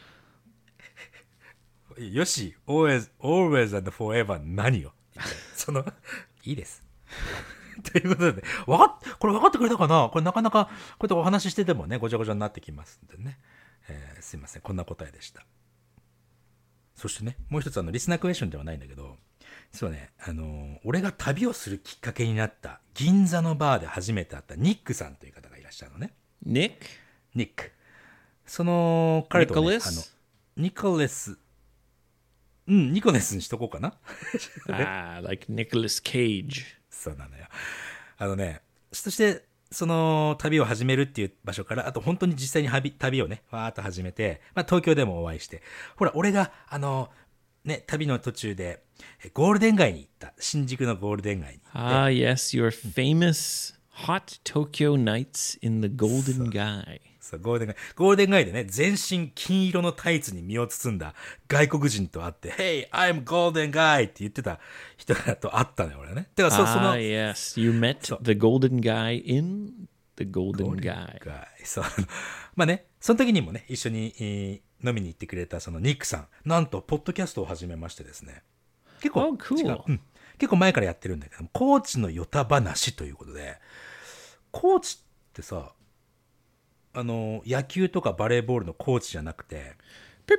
[SPEAKER 1] よし、always, always and forever 何よ。その、いいです。ということで、わかっ、これ分かってくれたかな？これなかなか、こうやってお話ししててもね、ごちゃごちゃになってきますんでね。えー、すいません。こんな答えでした。そしてね、もう一つあの、リスナークエスチョンではないんだけど、そうね、あのー、俺が旅をするきっかけになった、銀座のバーで初めて会ったニックさんという方がいらっしゃるのね。
[SPEAKER 2] Nick?
[SPEAKER 1] ニック。その、彼と、ね、
[SPEAKER 2] Nicholas?
[SPEAKER 1] あの、ニコレス、うん、ニコレスにしとこうかな。
[SPEAKER 2] Ah, like Nicolas Cage.
[SPEAKER 1] そうなのよ。あのね、そして、その旅を始めるっていう場所から、あと本当に実際に旅旅をね、わーっと始めて、まあ東京でもお会いして、ほら、俺が、あの、ね、旅の途中で、ゴールデン街に行った。新宿のゴールデン街に行って。
[SPEAKER 2] Ah, yes, your famous hot Tokyo nights in the Golden Guy.
[SPEAKER 1] そう、ゴールデン街。ゴールデン街でね、全身金色のタイツに身を包んだ外国人と会って、Hey, I'm Golden Guy って言ってた人と会ったのよ、俺はね。だからそ、そ
[SPEAKER 2] Ah,
[SPEAKER 1] の、
[SPEAKER 2] yes, you met the Golden Guy in the Golden Guy.
[SPEAKER 1] そう。まあね、その時にもね、一緒に、えー飲みに行ってくれたそのニックさん。なんと、ポッドキャストを始めましてですね。結構、
[SPEAKER 2] Oh, cool.
[SPEAKER 1] 違ううん、結構前からやってるんだけども、コーチのヨタ話ということで、コーチってさ、あの、野球とかバレーボールのコーチじゃなくて、
[SPEAKER 2] Beep,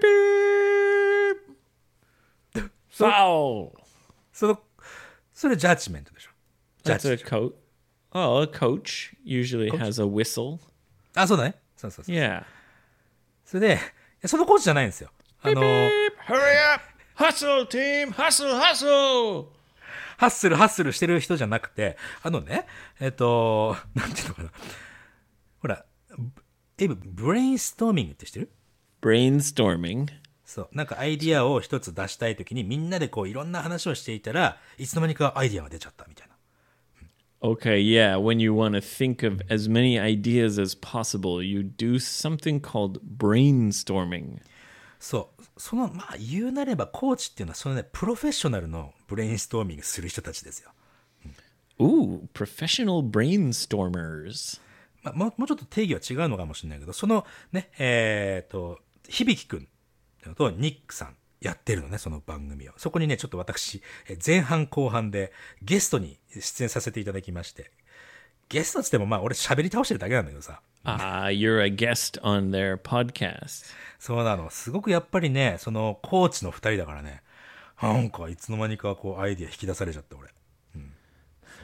[SPEAKER 2] beep. Foul.
[SPEAKER 1] その、それジャッジメントでしょ。ジャッ
[SPEAKER 2] That's a
[SPEAKER 1] ジ。
[SPEAKER 2] coach. Oh, a coach usually has a whistle.
[SPEAKER 1] あ、そうだね。そうそうそう。
[SPEAKER 2] Yeah.
[SPEAKER 1] それで、そのコーチじゃないんですよ。あの、
[SPEAKER 2] Beep, hurry up. Hustle, team. Hustle, hustle.
[SPEAKER 1] ハッスルハッスルしてる人じゃなくて、あのね、えっと、なんていうのかな。ほら、エブ、ブレインストーミングって知ってる？
[SPEAKER 2] Brainstorming.
[SPEAKER 1] そう。なんかアイディアを一つ出したいときにみんなでこういろんな話をしていたらいつの間にかアイディアが出ちゃったみたいな。
[SPEAKER 2] Okay, yeah. When you want to think of as many ideas as possible, you do something called brainstorming.
[SPEAKER 1] そう。その、まあ言うなればコーチっていうのはそのね、プロフェッショナルのブレインストーミングする人たちですよ。
[SPEAKER 2] Ooh, professional brainstormers.
[SPEAKER 1] まあ、もうもうちょっと定義は違うのかもしれないけど、そのね、えっと、響くんっていうのとニックさんやってるのね、その番組を。そこにね、ちょっと私、え前半後半でゲストに出演させていただきまして、ゲストっつってもまあ俺喋り倒してるだけなんだけどさ。
[SPEAKER 2] Ah, you're a guest on their podcast.
[SPEAKER 1] そうなの。すごくやっぱりね、そのコーチの二人だからね、なんかいつの間にかこうアイディア引き出されちゃって俺。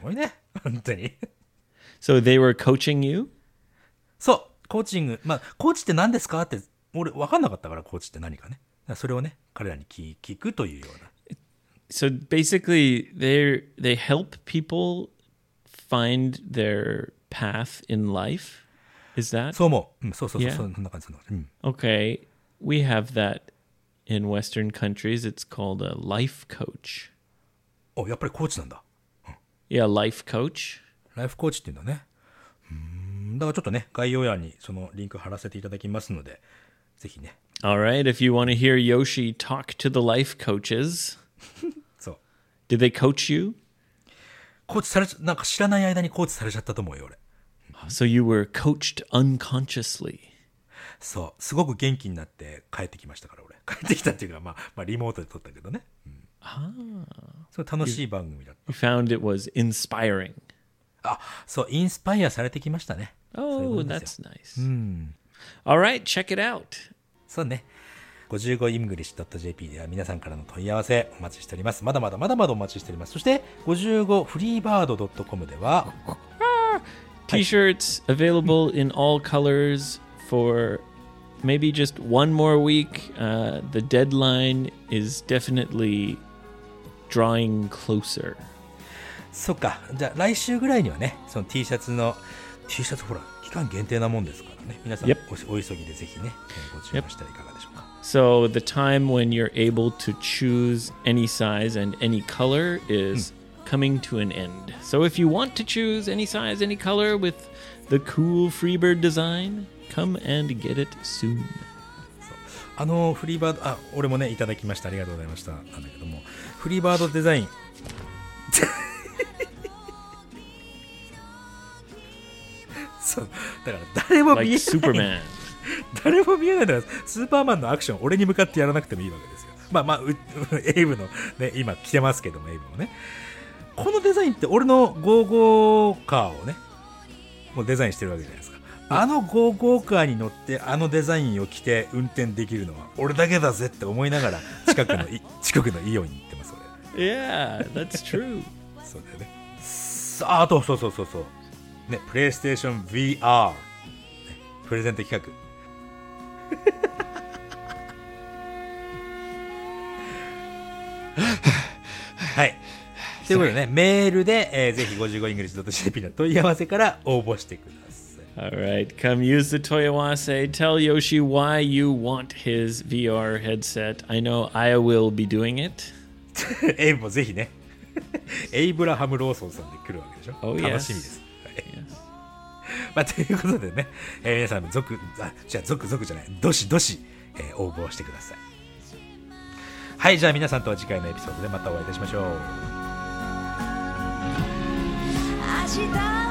[SPEAKER 1] ごいね。本当に。
[SPEAKER 2] So they were coaching you?
[SPEAKER 1] そう、コーチング。まあ、コーチって何ですかって、俺分かんなかったから、コーチって何かね。それをね、彼らに聞聞くというような。
[SPEAKER 2] So basically, they they help people find their path in life. Is that?
[SPEAKER 1] そう思う。うん、そうそうそう、
[SPEAKER 2] Yeah.
[SPEAKER 1] そんな感じ、そんな感じ。うん。
[SPEAKER 2] Okay, we have that in Western countries. It's called a life coach.
[SPEAKER 1] お、やっぱりコーチなんだ。
[SPEAKER 2] Yeah, life coach.
[SPEAKER 1] ライフコーチっていうんだね。うーん、だからちょっとね、概要欄にそのリンク貼らせていただきますので、ぜひね。
[SPEAKER 2] All right, if you want to hear Yoshi talk to the life coaches,
[SPEAKER 1] そう。
[SPEAKER 2] did they coach you?
[SPEAKER 1] コーチされちゃ、なんか知らない間にコーチされちゃったと思うよ、俺。
[SPEAKER 2] So you were coached unconsciously.
[SPEAKER 1] そう。すごく元気になって帰ってきましたから、俺。帰ってきたっていうか、まあ、まあ、リモートで撮ったけどね。うん、
[SPEAKER 2] Ah.
[SPEAKER 1] そう、楽しい番組だった。
[SPEAKER 2] You found it was inspiring.
[SPEAKER 1] あ、そう、インスパイアされてきましたね。
[SPEAKER 2] Oh, that's nice.
[SPEAKER 1] うん。
[SPEAKER 2] All right, check it out.
[SPEAKER 1] そうね。ごじゅうごイングリッシュドットジェーピー では皆さんからの問い合わせお待ちしております。まだまだまだまだお待ちしております。そして、ごじゅうごフリーバードドットコム では、
[SPEAKER 2] T-shirts available in all colors for maybe just one more week. Uh, the deadline is definitely drawing closer.
[SPEAKER 1] そっか。じゃあ来週ぐらいにはね、その T シャツの、T シャツほら、期間限定なもんですからね。皆さん
[SPEAKER 2] Yep.
[SPEAKER 1] お、お急ぎでぜひね、ご注文したらいかがでしょうか。
[SPEAKER 2] So the time when you're able to choose any size and any color is coming to an end. So if you want to choose any size, any color with the cool Freebird design, come and get it soon.
[SPEAKER 1] あのフリーバード、あ、俺もねいただきました、ありがとうございました。なんだけども、フリーバードデザインそうだから誰も見えない、
[SPEAKER 2] Like Superman.
[SPEAKER 1] 誰も見えないからスーパーマンのアクション俺に向かってやらなくてもいいわけですよ。まあまあうエイブのね今着てますけども、エイブもね、このデザインって俺のゴーゴーカーをねもうデザインしてるわけじゃないですか。あのゴーゴーカーに乗ってあのデザインを着て運転できるのは俺だけだぜって思いながら近くの近くのイオンに行ってます。俺
[SPEAKER 2] Yeah, that's true.
[SPEAKER 1] そうだよね。さあ、あとそうそうそうそうね、プレイステーション ブイアール、ね、プレゼント企画はいということでね、メールで、えー、ぜひ ごじゅうごイングリッシュドットジェーピー の問い合わせから応募してください。
[SPEAKER 2] Alright, come use the Toyawase. Tell Yoshi why you want his V R headset. I know I will be doing it.
[SPEAKER 1] エイブもぜひねエイブラハム・ローソンさんで来るわけでしょ。
[SPEAKER 2] Oh,
[SPEAKER 1] 楽しみです、
[SPEAKER 2] yes.
[SPEAKER 1] はい、まあ、ということでね、えー、皆さん続あじゃあ続々じゃないどしどし、えー、応募してください。はい、じゃあ皆さんとは次回のエピソードでまたお会いいたしましょう。
[SPEAKER 3] 明日